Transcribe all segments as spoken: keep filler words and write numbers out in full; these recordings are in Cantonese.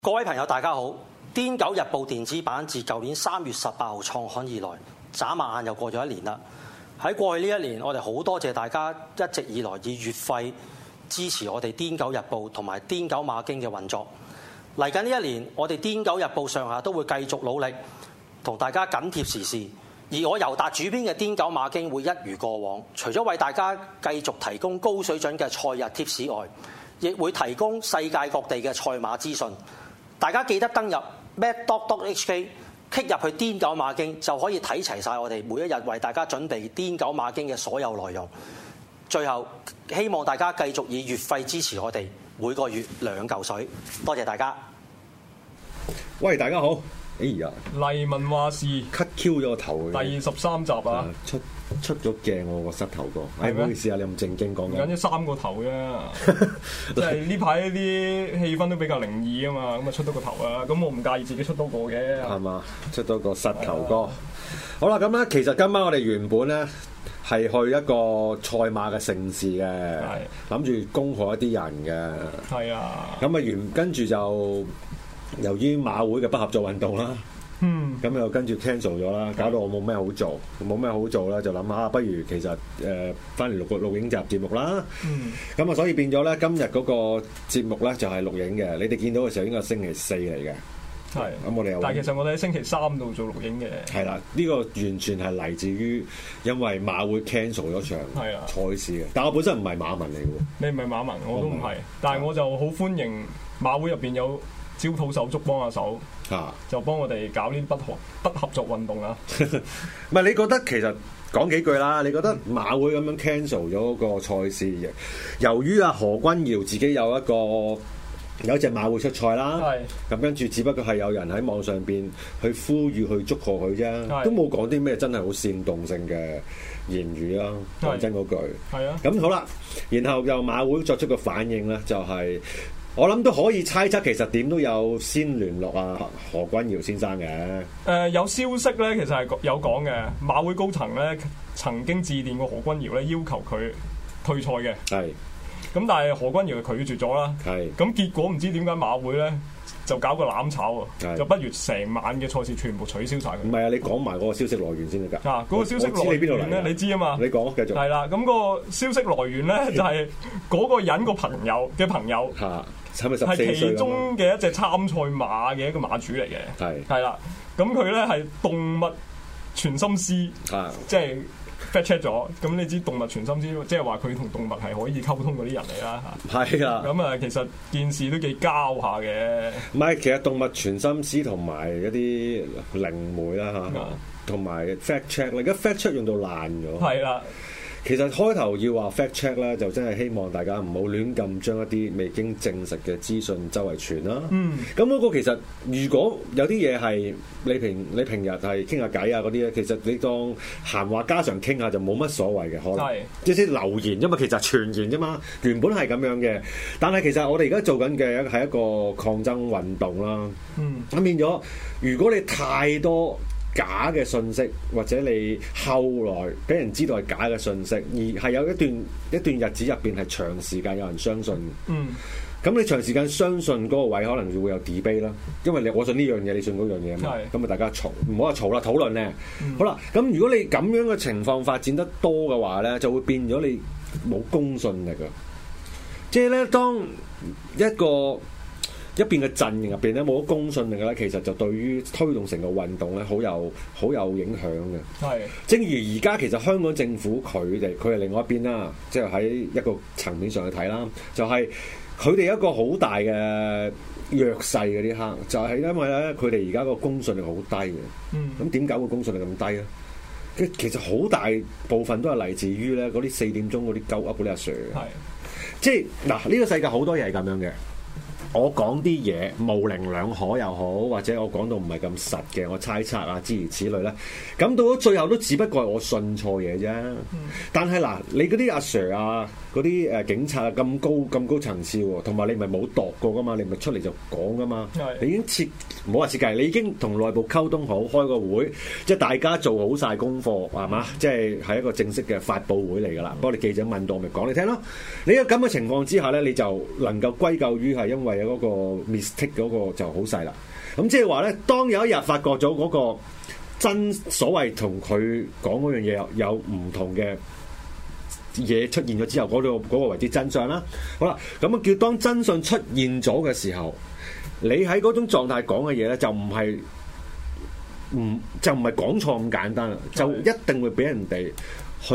各位朋友，大家好！《癲狗日報》電子版自舊年三月十八號創刊以來，眨下眼又過咗一年啦。喺過去呢一年，我哋好多謝大家一直以來以月費支持我哋《癲狗日報》同埋《癲狗馬經》嘅運作。嚟緊呢一年，我哋《癲狗日報》上下都會繼續努力，同大家緊貼時事。而我尤達主編嘅《癲狗馬經》會一如過往，除咗為大家繼續提供高水準嘅賽日貼士外，亦會提供世界各地嘅賽馬資訊。大家記得登入 mad dot dot h k， click 入去癲狗馬經就可以睇齊晒我哋每一日為大家準備癲狗馬經嘅所有內容。最後，希望大家繼續以月費支持我哋，每個月兩嚿水。多謝大家。 喂，大家好。哎呀， 黎民話事 cut Q 咗個頭， 第十三集啊， 出出咗鏡我個膝頭哥，哎，唔好意思啊，你咁正經講緊， 緊咗三個頭啫，即係呢排啲氣氛都比較靈異啊嘛，咁啊出多個頭啊，咁我唔介意自己出多個嘅，係嘛，出多個膝頭哥。好啦，咁咧其實今晚我哋原本咧係去一個賽馬嘅盛事嘅，諗住恭賀一啲人嘅， 係啊， 咁啊原跟住就。由於馬會嘅不合作運動啦， 嗯， 咁又跟住 cancel 咗啦，搞到我冇咩好做，冇咩好做啦，就諗下不如其實誒翻嚟錄個錄影集節目啦，嗯，咁啊所以變咗咧今日嗰個節目咧就係錄影嘅，你哋見到嘅時候應該係星期四嚟嘅， 係，咁我哋又，但係其實我哋喺星期三度做錄影嘅， 係啦，呢個完全係嚟自於因為馬會 cancel 咗場賽事嘅，但我本身唔係馬民嚟嘅喎， 你唔係馬民，我都唔係，但係我就好歡迎馬會入邊有。招土手足幫下手，啊、就幫我哋搞呢啲不合不合作運動啊！ 唔係你覺得其實講幾句啦？你覺得馬會咁樣 cancel 咗個賽事，由於阿何君堯自己有一個有一隻馬會出賽啦，咁跟住只不過係有人喺網上邊去呼籲去祝賀佢啫，都冇講啲咩真係好煽動性嘅言語啦。講真嗰句，係啊。咁好啦，然後又馬會作出個反應咧，就係、是。我諗都可以猜測，其實點都有先聯絡啊何君堯先生嘅。誒、 呃，有消息咧，其實係有講嘅。馬會高層咧曾經致電過何君堯咧，要求佢退賽嘅。係。咁但係何君堯就拒絕咗啦。係。咁結果唔知點解馬會咧就搞個攬炒啊，就不如成晚嘅賽事全部取消晒佢。 唔係啊，你講埋嗰個消息來源先得㗎。 啊，嗰、那個消息來源咧，你知啊嘛？ 你講，繼續。 係啦，咁、那個消息來源咧就係嗰個人個朋友嘅朋友。嚇。係其中嘅一隻參賽馬嘅一個馬主嚟嘅，係係啦，咁佢咧係動物傳心師，啊、即係 fact check 咗，咁你知動物傳心師，即係話佢同動物係可以溝通嗰啲人嚟啦，係啊，咁啊其實件事都幾交下嘅。 唔係，其實動物傳心師同埋一啲靈媒啦嚇，同埋 fact check，而家 fact check 用到爛咗，係啦。其實開頭要話 fact check 咧，就真係希望大家唔好亂咁將一啲未經證實嘅資訊周圍傳啦。嗯，咁嗰個其實如果有啲嘢係你平你平日係傾下偈啊嗰啲咧，其實你當閒話家常傾下就冇乜所謂嘅，可能即係留言，因為其實傳言啫嘛，原本係咁樣嘅。但係其實我哋而家做緊嘅係一個抗爭運動啦。嗯，咁變咗，如果你太多假嘅信息，或者你後來俾人知道係假嘅信息，而係有一段一段日子入邊係長時間有人相信。嗯，咁你長時間相信嗰個位，可能會有 debate 啦，因為你我信呢樣嘢，你信嗰樣嘢嘛，咁啊大家嘈，唔好話嘈啦，討論咧。嗯、好啦，咁如果你咁樣嘅情況發展得多嘅話咧，就會變咗你冇公信力啊！即係咧，當一個一邊嘅陣營入邊咧冇咗公信力嘅咧，其實就對於推動成個運動咧好有好有影響嘅。係，正如而家其實香港政府佢哋佢係另外一邊啦，即係喺一個層面上去睇啦，就係佢哋一個好大嘅弱勢嗰啲刻，就係、是、因為咧佢哋而家個公信力好低嘅。嗯，咁點解會公信力咁低咧？其實好大部分都係嚟自於咧嗰啲四點鐘嗰啲鳩噏嗰啲阿 Sir。係，即係嗱呢個世界好多嘢係咁樣嘅。我講啲嘢模棱兩可又好，或者我講到唔係咁實嘅，我猜測啊諸如此類咧，咁到咗最後都只不過係我信錯嘢啫。嗯、但係嗱，你嗰啲阿 Sir 啊，嗰啲誒警察啊咁高咁高層次喎，同埋你咪冇度過噶嘛，你咪出嚟就講噶嘛。你已經設唔好話設計，你已經同內部溝通好，開個會，即係大家做好晒功課係嘛？即係係一個正式嘅發佈會嚟㗎啦。不過你記者問到，咪講你聽咯。你有咁嘅情況之下咧，你就能夠歸咎於係因為嘅嗰個 mistake 嗰個就好細啦。咁即係話咧，當有一日發覺咗嗰個真所謂同佢講嗰樣嘢有有唔同嘅嘢出現咗之後，嗰、嗰個嗰、嗰個為之真相啦。好啦，咁啊叫當真相出現咗嘅時候，你喺嗰種狀態講嘅嘢咧，就唔係唔就唔係講錯咁簡單啦，就一定會俾人哋去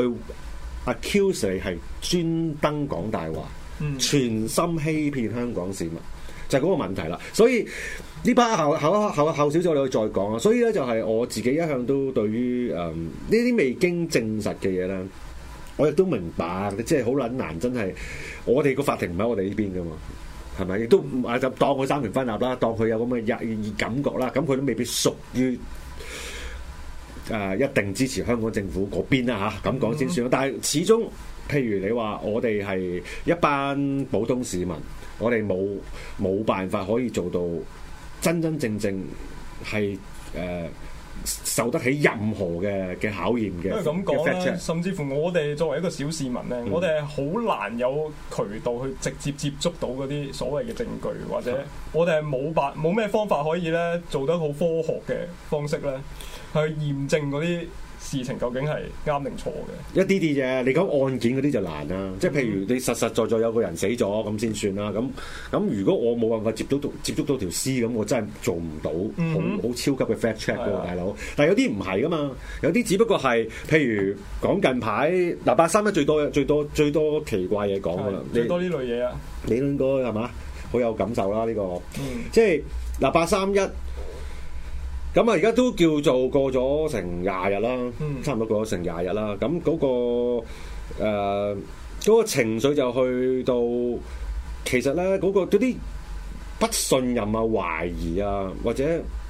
accuse 你係專登講大話，嗯、全心欺騙香港市民，就係、是、嗰個問題啦。所以呢班後後後後少少我哋再講啊。所以咧就係我自己一向都對於誒呢啲未經證實嘅嘢咧，我亦都明白，即係好撚難，真係我哋個法庭唔喺我哋呢邊噶嘛。係咪？亦都啊，就當佢三權分立啦，當佢有咁嘅意感覺啦，咁佢都未必屬於誒、呃、一定支持香港政府嗰邊啦嚇，咁講先算。但係始終，譬如你話我哋係一班普通市民，我哋冇冇辦法可以做到真真正正係誒、呃受得起任何嘅嘅考驗嘅，因為咁講啦， 甚至乎我哋作為一個小市民咧，嗯、我哋係好難有渠道去直接接觸到嗰啲所謂嘅證據，或者我哋係冇辦冇咩方法可以咧做得好科學嘅方式咧去驗證嗰啲事情究竟係啱定錯嘅。 一啲啲啫，你講案件嗰啲就難啦，即係譬如你實實在在有個人死咗咁先算啦。咁咁如果我冇辦法接觸到接觸到條屍咁，我真係做唔到好好超級嘅 fact check 喎，大佬。但係有啲唔係噶嘛，有啲只不過係譬如講近排嗱八三一最多最多最多奇怪嘢講噶啦， 最多呢類嘢啊， 你應該係嘛好有感受啦呢、呢個， 嗯、 即係嗱八三一。咁啊，而家都叫做過咗成廿日啦，嗯、差唔多過咗成廿日啦。咁嗰、嗰個誒嗰、呃嗰個情緒就去到，其實咧嗰、嗰個嗰啲不信任啊、懷疑啊，或者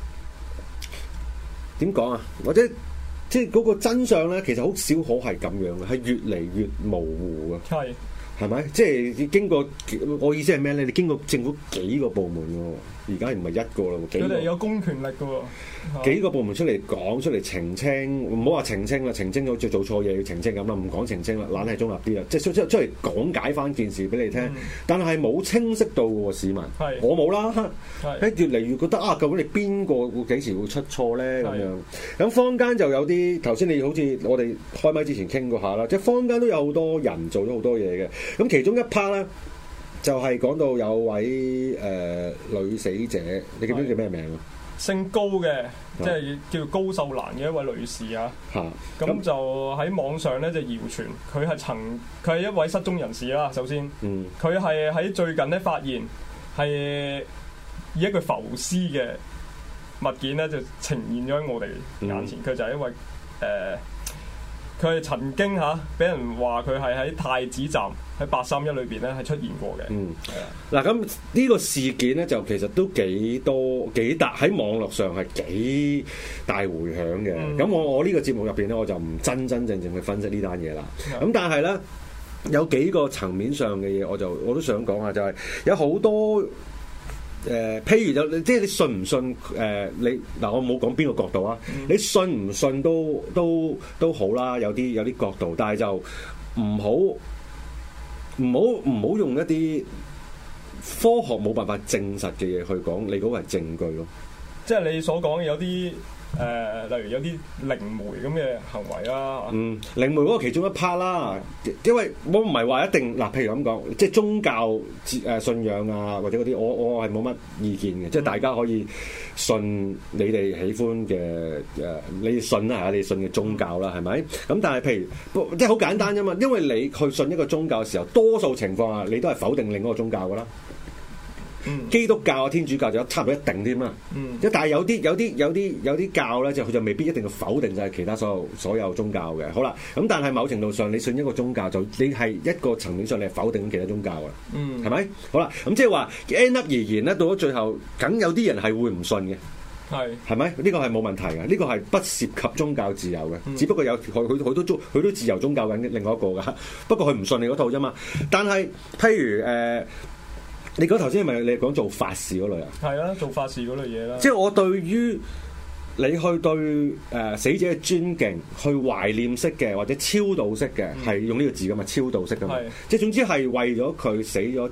點講啊，或者即係嗰個真相咧，其實好少可係咁樣嘅，係越嚟越模糊嘅。係係咪？即係經過我意思係咩咧？你經過政府幾個部門喎？而家唔係一個啦， 佢哋有公權力嘅喎， 幾個部門出嚟講出嚟澄清，唔好話澄清啦，澄清好似做錯嘢要澄清咁啦，唔講澄清啦，懶係中立啲啦，即係出出出嚟講解翻件事俾你聽，嗯、但係冇清晰到喎市民，是我冇啦，係越嚟越覺得啊，究竟你邊個會幾時會出錯咧咁樣？咁是坊間就有啲頭先你好似我哋開麥之前傾過下啦，即係坊間都有好多人做咗好多嘢嘅，咁其中一 part 咧。就係講到有位誒、呃、女死者，你記唔記得叫咩名啊？ 姓高嘅，即係叫高秀蘭嘅一位女士啊。嚇！咁就喺網上咧就謠傳，佢係曾佢係一位失蹤人士啦。首先，嗯，佢係喺最近咧發現係以一具浮屍嘅物件咧就呈現咗喺我哋眼前。佢、嗯、就係一位誒。呃佢係曾經嚇俾人話佢係喺太子站喺八三一裏邊咧係出現過嘅。嗯，係啊。嗱咁呢個事件咧就其實都幾多幾大喺網絡上係幾大迴響嘅。咁、嗯、我我呢個節目入邊咧我就唔真真正正去分析呢單嘢啦。咁、嗯、但係咧有幾個層面上嘅嘢我就我都想講下，就係有好多。誒、呃，譬如就即係你信唔信？誒、呃，你嗱，我冇講邊個角度啊。嗯、你信唔信都都都好啦，有啲有啲角度，但係就唔好唔好唔好用一啲科學冇辦法證實嘅嘢去講，你嗰個係證據咯。即係你所講有啲。誒、呃，例如有啲靈媒咁嘅行為啦， 嗯，靈媒嗰個其中一 part 啦，嗯、因為我唔係話一定嗱，譬如咁講，即係宗教誒信仰啊，或者嗰啲，我我係冇乜意見嘅，嗯、即係大家可以信你哋喜歡嘅誒，你信啦嚇，你信嘅宗教啦，係咪？咁但係譬如即係好簡單啫嘛，因為你去信一個宗教嘅時候，多數情況下你都係否定另一個宗教噶啦。嗯、基督教啊、天主教就差唔多一定添嘛，嗯，即但係有啲有啲有啲有啲教咧，就佢就未必一定要否定晒其他所有所有宗教嘅。好啦，咁但係某程度上，你信一個宗教就你係一個層面上，你係否定其他宗教噶啦，嗯，係咪？好啦，咁即係話 end up 而言咧，到咗最後，梗有啲人係會唔信嘅，係係咪？呢、呢個係冇問題嘅，呢、呢個係不涉及宗教自由嘅，嗯、只不過有佢佢佢都宗佢都自由宗教緊另外一個噶，不過佢唔信你嗰套啫嘛。但係譬如誒。呃你講頭先係咪你講做法事嗰類啊？係啊，做法事嗰類嘢啦。 即係我對於你去對誒、呃、死者嘅尊敬、去懷念式嘅或者超度式嘅，係、嗯、用呢個字噶嘛？超度式噶嘛？是即係總之係為咗佢死咗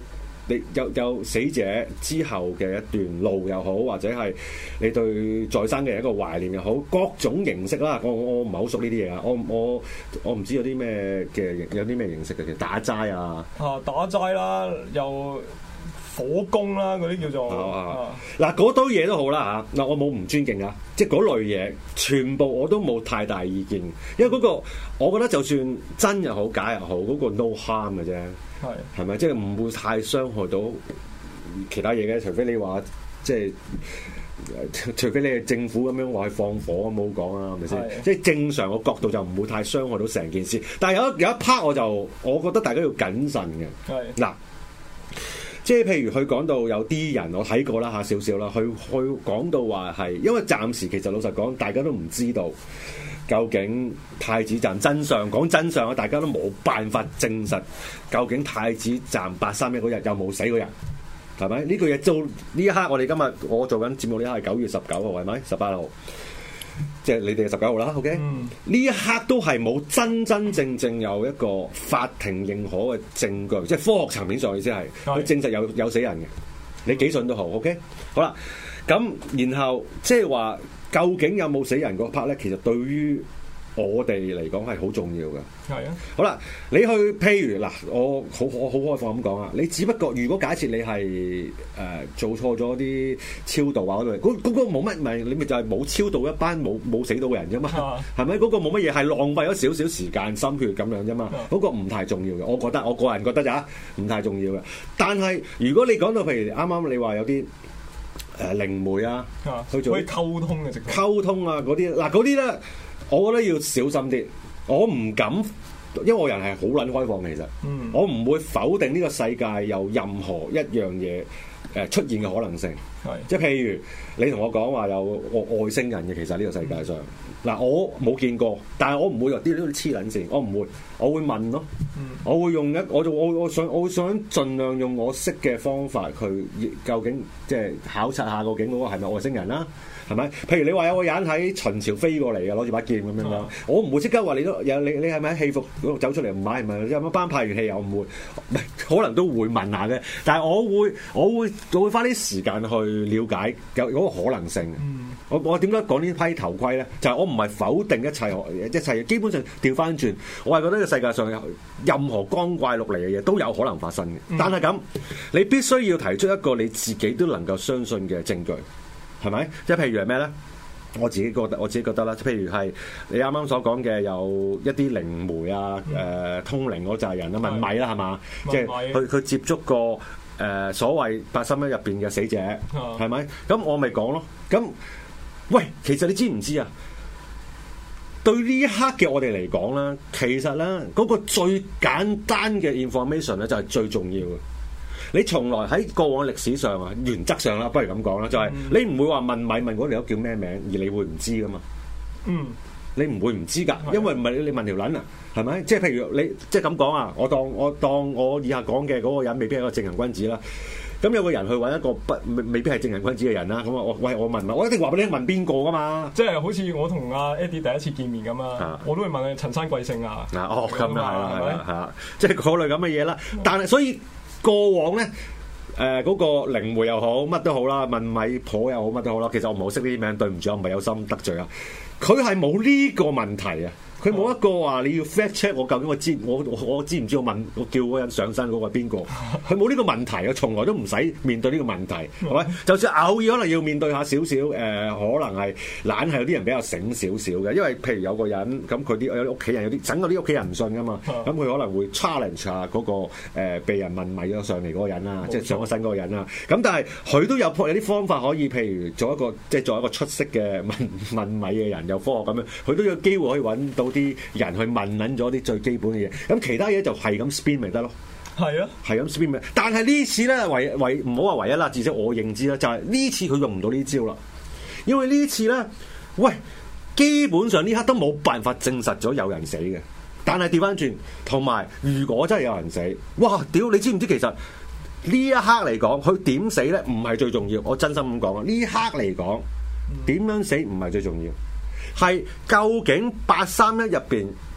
你有有死者之後嘅一段路又好，或者係你對在生嘅人一個懷念又好，各種形式啦。我我唔係好熟呢啲嘢啊，我我我唔知有啲咩嘅有啲咩形式嘅，其實打齋啊， 啊打齋啦，又火攻啦，嗰啲叫做嗱嗰堆嘢都好啦嚇。嗱我冇唔尊敬啊，即係嗰類嘢全部我都冇太大意見，因為嗰個我覺得就算真又好假又好，嗰個 no harm 嘅啫。係，係咪即係唔會太傷害到其他嘢嘅？除非你話即係，除非你係政府咁樣話去放火咁冇講啊，係咪先？即係正常個角度就唔會太傷害到成件事。但係有有一 part 我就我覺得大家要謹慎嘅。係嗱，即係譬如佢講到有啲人我睇過啦嚇少少啦，佢佢講到話係因為暫時其實老實講，大家都唔知道。究竟太子站真相講真相啊，大家都冇辦法證實究竟太子站八三一嗰日有冇死過人，係咪？呢個嘢做呢一刻，我哋今日我做緊節目呢一刻係九月十九號，係咪？十八號，即係你哋係十九號啦。OK，呢、嗯、一刻都係冇真真正正有一個法庭認可嘅證據，即係科學層面上意思係佢證實有有死人嘅。你幾信都好 OK。好啦，咁然後即係話。究竟有冇死人嗰 part 咧？其實對於我哋嚟講係好重要嘅。係啊。好啦，你去譬如嗱，我好我好開放咁講啊。你只不過如果假設你係誒、呃、做錯咗啲超度啊嗰類，嗰、嗰個冇乜咪你咪就係冇超度一班冇冇死到嘅人啫嘛。係咪？嗰、嗰個冇乜嘢，係浪費咗少少時間心血咁樣啫嘛。嗰、嗰個唔太重要嘅，我覺得我個人覺得咋，唔太重要嘅。但係如果你講到譬如啱啱你話有啲。誒靈媒啊，去做可以溝通嘅，直溝通啊嗰啲嗱嗰啲咧，我覺得要小心啲。我唔敢，因為我人係好撚開放嘅，其實，嗯、我唔會否定呢個世界有任何一樣嘢誒出現嘅可能性。係，即係譬如你同我講話有外星人嘅，其實呢個世界上嗱、嗯、我冇見過，但係我唔會話啲啲黐撚線，我唔會，我會問咯，嗯、我會用一我就我我想我會想盡量用我識嘅方法去究竟即係考察下究竟嗰個係咪外星人啦、啊。係咪？譬如你話有個人喺秦朝飛過嚟嘅，攞住把劍咁樣樣，啊、我唔會即刻話你都有你你係咪喺戲服嗰度走出嚟唔買？係咪有乜班派完戲又唔會？唔係可能都會問下嘅，但係我會我會我會花啲時間去了解有嗰個可能性。嗯、我我點解講呢批頭盔咧？就係、是、我唔係否定一切，一切基本上調翻轉，我係覺得呢個世界上有任何光怪陸離嘅嘢都有可能發生嘅。嗯、但係咁，你必須要提出一個你自己都能夠相信嘅證據。係咪？即係譬如係咩咧？我自己覺得，我自己覺得啦。譬如係你啱啱所講嘅，有一啲靈媒啊、誒、嗯呃、通靈嗰扎人啊、問米啦，係嘛？即係佢佢接觸過誒、呃、所謂八三一入邊嘅死者，係咪、嗯？咁我咪講咯。咁喂，其實你知唔知啊？對呢一刻嘅我哋嚟講咧，其實咧嗰、嗰個最簡單嘅 information 咧就係最重要嘅。你從來喺過往歷史上啊，原則上啦，不如咁講啦，就係、是、你唔會話問米問嗰條友叫咩名，而你會唔知噶嘛？嗯，你唔會唔知㗎，因為唔係你問條撚啊，係咪？即係譬如你即係咁講啊，我當我當我以下講嘅嗰個人未必係一個正人君子啦。咁有個人去揾一個不未未必係正人君子嘅人啦。咁啊，我喂我問啊，我一定話俾你問邊個㗎嘛？即係好似我同阿 Eddie 第一次見面咁啊，我都會問你陳生貴姓啊？嗱，哦咁啊，係啦係啦係啦，即係嗰類咁嘅嘢啦。但係所以。過往咧，誒、呃、嗰、那個靈媒又好，乜都好啦，問米婆又好，乜都好啦。其實我唔係好識呢啲名，對唔住，我唔係有心得罪啊。佢係冇呢個問題啊。佢冇一個話你要 fact check 我究竟我知我我，我知唔知我問我叫嗰個人上身嗰個係邊個？佢冇呢個問題啊，從來都唔使面對呢個問題，係咪？就算偶爾可能要面對下少少誒，可能係懶係有啲人比較醒少少嘅，因為譬如有個人咁佢啲有啲屋企人有啲整到啲屋企人唔信噶嘛，咁佢可能會 challenge 下嗰個、呃、被人問米咗上嚟嗰個人啦，即係上咗身嗰個人啦。咁但係佢都有有啲方法可以，譬如做一個即係做一個出色嘅問問米嘅人，有科學咁樣，佢都有機會可以揾到啲人去問撚咗啲最基本嘅嘢，咁其他嘢就係咁 spin 咪得咯。係啊，係咁 spin 咪。但係呢次咧，唯唯唔好話唯一啦，至少我認知啦，就係、是、呢次佢用唔到呢招啦。因為呢次咧，喂，基本上呢刻都冇辦法證實咗有人死嘅。但係調翻轉，同埋如果真係有人死，哇！屌，你知唔知其實呢一刻嚟講，佢點死咧唔係最重要。我真心咁講啊，呢一刻嚟講，點樣死唔係最重要。係究竟八三一入邊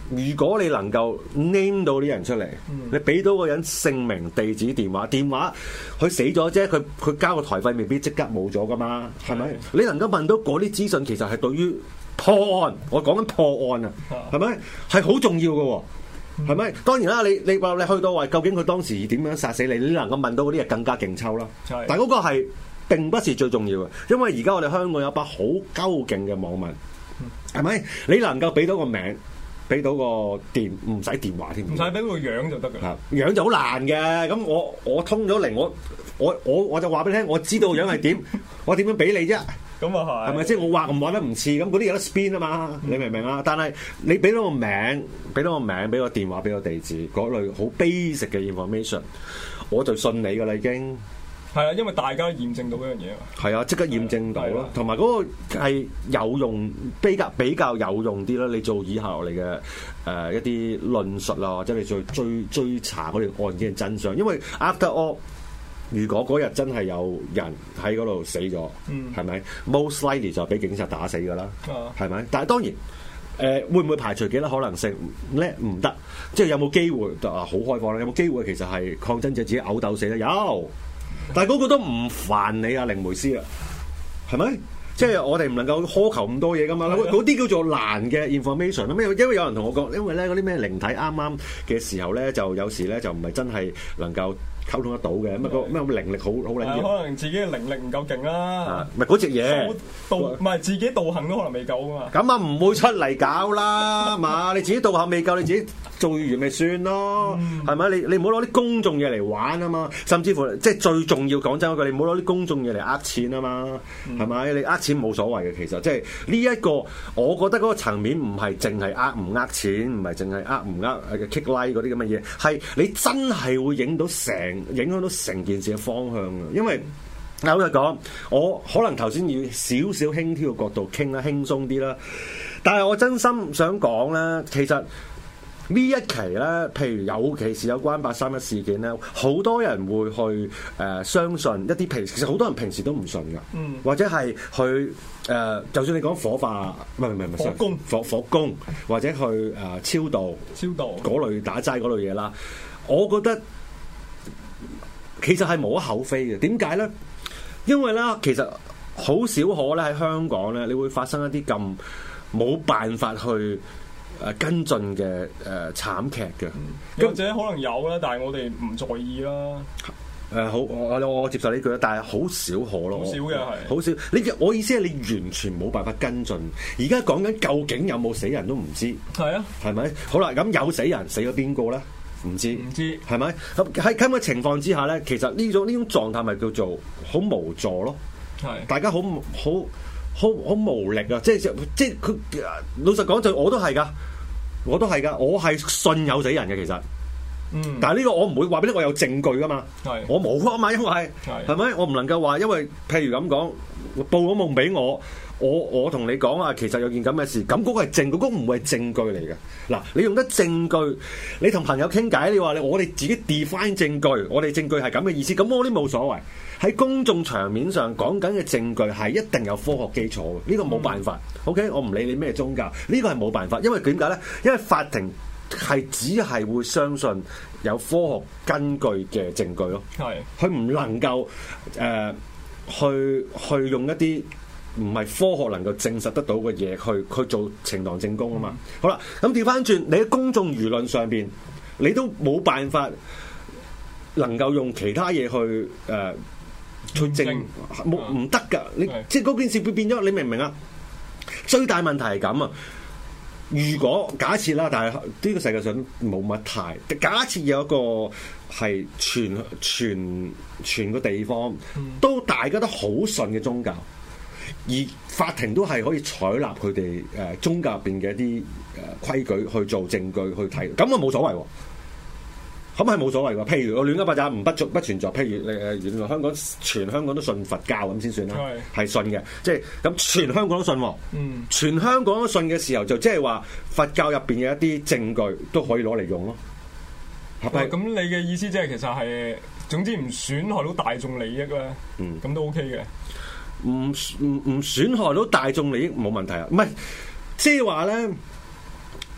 如果你能夠 name 到啲人出嚟，嗯、你俾到個人姓名、地址、電話，電話佢死咗啫，佢佢交個台費未必即刻冇咗噶嘛，係咪？嗯、你能夠問到嗰啲資訊，其實係對於破案，我講緊破案啊，係咪？係好重要嘅，係咪？嗯、當然啦，你你話你去到話，究竟佢當時點樣殺死你？你能夠問到嗰啲嘢更加勁抽啦。嗯、但係嗰個係並不是最重要嘅，因為而家我哋香港有一把好鳩勁嘅網民，係咪？你能夠俾到個名？俾到個電唔使電話添，唔使俾個樣就得㗎。樣就好難嘅，咁我我通咗嚟，我我我我就話俾你聽，我知道個樣係點，我點樣俾你啫？咁啊係，係咪即係我畫唔畫得唔似？咁嗰啲有得 spin 啊嘛，嗯、你明唔明啊？但係你俾到個名，俾到個名，俾個電話，俾個地址，嗰類好 basic 嘅 information，我就信你㗎啦已經。係啊，因為大家都驗證到嗰樣嘢啊。係啊，即刻驗證到咯，同埋嗰個係有用，比較比較有用啲啦。你做以下落嚟嘅誒一啲論述啊，或者你再追追查嗰條案件嘅真相。因為 after all，如果嗰日真係有人喺嗰度死咗，係咪、嗯、most likely 就俾警察打死㗎啦？係咪、嗯？但係當然。誒、呃、會唔會排除幾多可能性咧？唔得，即係有冇機會啊？好開放啦！有冇機會其實係抗爭者自己嘔鬥死咧？有，但係嗰個都唔煩你啊，靈媒師啊，係咪？即係我哋唔能夠苛求咁多嘢噶嘛？嗰啲叫做難嘅 information 啦。因為因為有人同我講，因為咧嗰啲咩靈體啱啱嘅時候咧，就有時咧就唔係真係能夠溝通得到嘅，咁啊個咩靈力好好撚要，可能自己嘅靈力唔夠勁啦，唔係嗰隻嘢道，唔係自己道行都可能未夠啊嘛。咁啊唔會出嚟搞啦，嘛你自己道行未夠，你自己做完咪算咯，係咪、嗯？你你唔好攞啲公眾嘢嚟玩啊嘛，甚至乎即係最重要講真嗰句，你唔好攞啲公眾嘢嚟呃錢啊嘛，係咪、嗯？你呃錢冇所謂嘅，其實即係呢一個，我覺得嗰個層面唔係淨係呃唔呃錢，唔係淨係呃唔呃嘅 kick like 嗰啲咁嘅嘢，係你真係會影到成。影響到成件事嘅方向啊！因為老實講，我可能頭先要少少輕佻嘅角度傾啦，輕鬆啲啦。但係我真心想講咧，其實呢一期咧，譬如尤其是有關八三一事件咧，好多人會去誒、呃、相信一啲平時，其實好多人平時都唔信㗎，嗯、或者係去誒、呃，就算你講火化，唔係唔係唔係火攻火火攻，或者去誒、呃、超度超度嗰類打齋嗰類嘢啦，我覺得。其實係無可厚非嘅，點解咧？因為咧，其實好少可咧喺香港咧，你會發生一啲咁冇辦法去誒跟進嘅誒、呃、慘劇嘅，或者可能有啦，但係我哋唔在意啦。誒、呃、好，我我接受呢句啦，但係好少可咯，好少嘅係，好少。你我意思係你完全冇辦法跟進。而家講緊究竟有冇死人都唔知，係啊，係咪？好啦，咁有死人，死咗邊個咧？唔知，唔知係咪？咁喺咁嘅情況之下咧，其實呢種呢種狀態咪叫做好無助咯。係是，大家好好好好無力啊！即係即係佢老實講，就我都係噶，我都係噶，我係信有死人嘅其實。嗯，但係呢個我唔會話俾你，我有證據噶嘛。係是，我冇啊嘛，因為係係咪？我唔能夠話，因為譬如咁講，報咗夢俾我。我我同你講啊，其實有件咁嘅事，咁嗰個係證據，嗰個唔會係證據嚟嘅。嗱，你用得證據，你同朋友傾偈，你話你我哋自己 define 證據，我哋證據係咁嘅意思，咁我啲冇所謂。喺公眾場面上講緊嘅證據係一定有科學基礎嘅，呢個冇辦法。嗯、OK，我唔理你咩宗教，呢個係冇辦法，因為點解咧？因為法庭係只係會相信有科學根據嘅證據咯。係是，佢唔能夠誒、呃、去去用一啲。唔係科學能夠證實得到嘅嘢，去去做呈堂證供啊嘛。嗯、好啦，咁調翻轉，你喺公眾輿論上邊，你都冇辦法能夠用其他嘢去誒、呃、去證，冇唔得㗎。你的即係嗰件事會變咗，你明唔明啊？最大問題係咁啊！如果假設啦，但係呢個世界上冇乜太，假設有一個係全全全個地方都大家都好信嘅宗教。而法庭都係可以採納佢哋誒宗教入邊嘅一啲誒規矩去做證據去睇，咁啊冇所謂喎，咁係冇所謂喎。譬如我亂噏八雜唔不足不存在，譬如誒原來香港全香港都信佛教咁先算啦，係是信嘅，即係咁全香港都信喎，嗯，全香港都信嘅時候就即係話佛教入邊嘅一啲證據都可以攞嚟用咯。係咪？咁你嘅意思即係其實係總之唔損害到大眾利益咧，嗯，咁都 OK 嘅。唔唔唔損害到大眾利益冇問題啊，唔係即係話咧，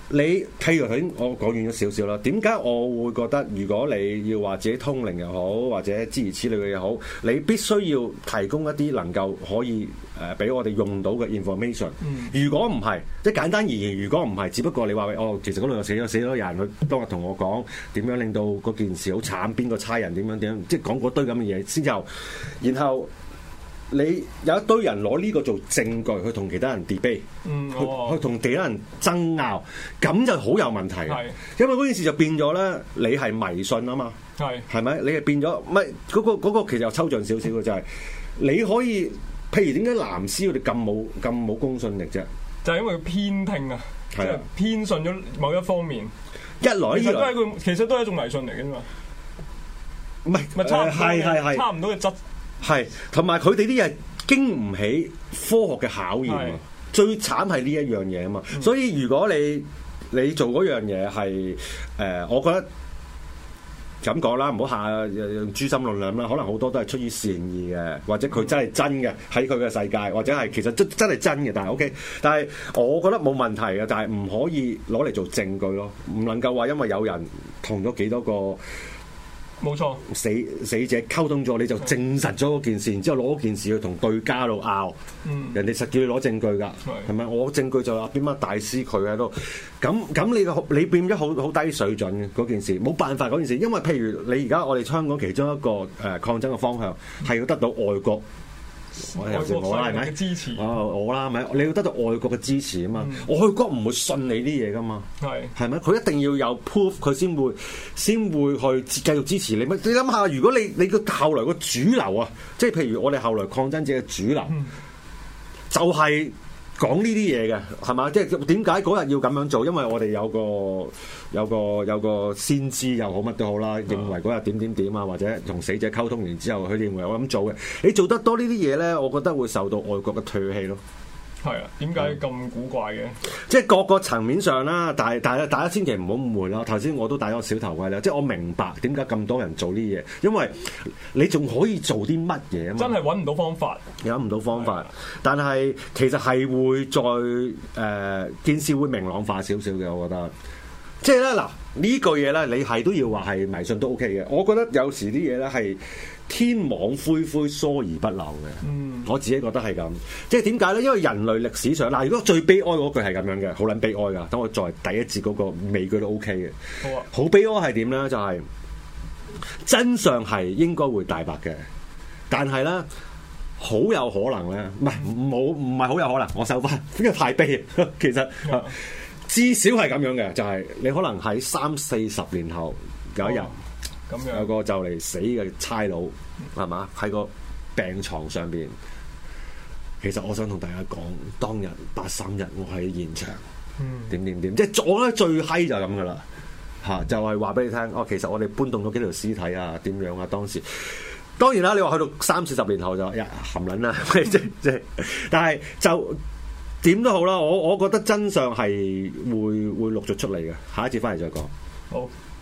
你譬如頭先我講遠咗少少啦，點解我會覺得如果你要話自己通靈又好，或者諸如此類嘅嘢好，你必須要提供一啲能夠可以誒俾、呃、我哋用到嘅 information。嗯、如果唔係，即係簡單而言，如果唔係，只不過你話哦，其實嗰度又死咗死咗人，佢當日同我講點樣令到嗰件事好慘，邊個差人點樣點樣，即係講嗰堆咁嘅嘢先後，然後。你有一堆人攞呢個做證據去同其他人 debate，、嗯哦、去去同其他人爭拗，咁就好有問題。係，因為嗰件事就變咗咧，你係迷信啊嘛。係，係咪？你係變咗，唔係嗰個嗰、嗰個其實又抽象少少嘅就係、係，你可以，譬如點解藍絲佢哋咁冇咁冇公信力啫？就係因為佢偏聽啊，即係偏信咗某一方面。一來其實都係佢，其實都係一種迷信嚟嘅嘛。唔係，咪差唔多係係係差唔多嘅質。係，同埋佢哋啲嘢經唔起科學嘅考驗啊！最慘係呢一樣嘢啊嘛，嗯、所以如果你你做嗰樣嘢係誒，我覺得咁講啦，唔好下用誅心論量啦，可能好多都係出於善意嘅，或者佢真係真嘅喺佢嘅世界，或者係其實真真係真嘅，但係 OK，但係我覺得冇問題嘅，但係唔可以攞嚟做證據咯，唔能夠話因為有人同咗幾多個。冇錯，死死者溝通咗，你就證實咗嗰件事，然之後攞嗰件事去同對家度拗，嗯、人哋實叫你攞證據㗎，係咪？我證據就話邊乜大師佢喺度，咁咁你個你變咗好好低水準嘅嗰件事，冇辦法嗰件事，因為譬如你而家我哋香港其中一個誒、呃、抗爭嘅方向係要得到外國。我尤其我啦，係咪？支持哦，我啦，係咪？你要得到外國嘅支持啊嘛，嗯、外國唔會信你啲嘢噶嘛，係係咪？佢一定要有 proof，佢先會先會去繼續支持你。乜？你諗下，如果你你個後來個主流啊，即係譬如我哋後來抗爭者嘅主流，嗯、就係講呢啲嘢嘅，係嘛？即係點解嗰日要咁樣做？因為我哋有個。有個有個先知又好乜都好啦，認為嗰日點點點啊，或者同死者溝通完之後，佢認為我咁做嘅，你做得多呢啲嘢咧，我覺得會受到外國嘅唾棄咯。係啊，點解咁古怪嘅？即係各個層面上啦，但係但係大家千祈唔好誤會啦。頭先我都戴咗小頭盔啦，即係我明白點解咁多人做呢啲嘢，因為你仲可以做啲乜嘢啊嘛？真係揾唔到方法，揾唔到方法。的但係其實係會再誒、呃、件事會明朗化少少嘅，我覺得。即係咧嗱，呢句嘢咧，你係都要話係迷信都 OK 嘅。我覺得有時啲嘢咧係天網恢恢，疏而不漏嘅。嗯，我自己覺得係咁。即係點解咧？因為人類歷史上嗱，如果最悲哀嗰句係咁樣嘅，好撚悲哀噶。等我作為第一節嗰個尾句都 OK 嘅。好啊。好悲哀係點咧？就係、是、真相係應該會大白嘅，但係咧好有可能咧，唔係冇唔係好有可能。我收翻，因為太悲。其實。嗯至少係咁樣嘅，就係、是、你可能喺三四十年後有一日，咁、哦、樣有個就嚟死嘅差佬，係嘛？喺個病床上邊。其實我想同大家講，當日八三日我喺現場，點點點，即係我咧最閪就係咁噶啦，嚇就係話俾你聽。哦，其實我哋搬動咗幾條屍體啊，點樣啊？當時當然啦，你話去到三四十年後就呀含撚啦，即即係，但係就。點都好啦，我我覺得真相係會會陸續出嚟嘅，下一節翻嚟再講。好。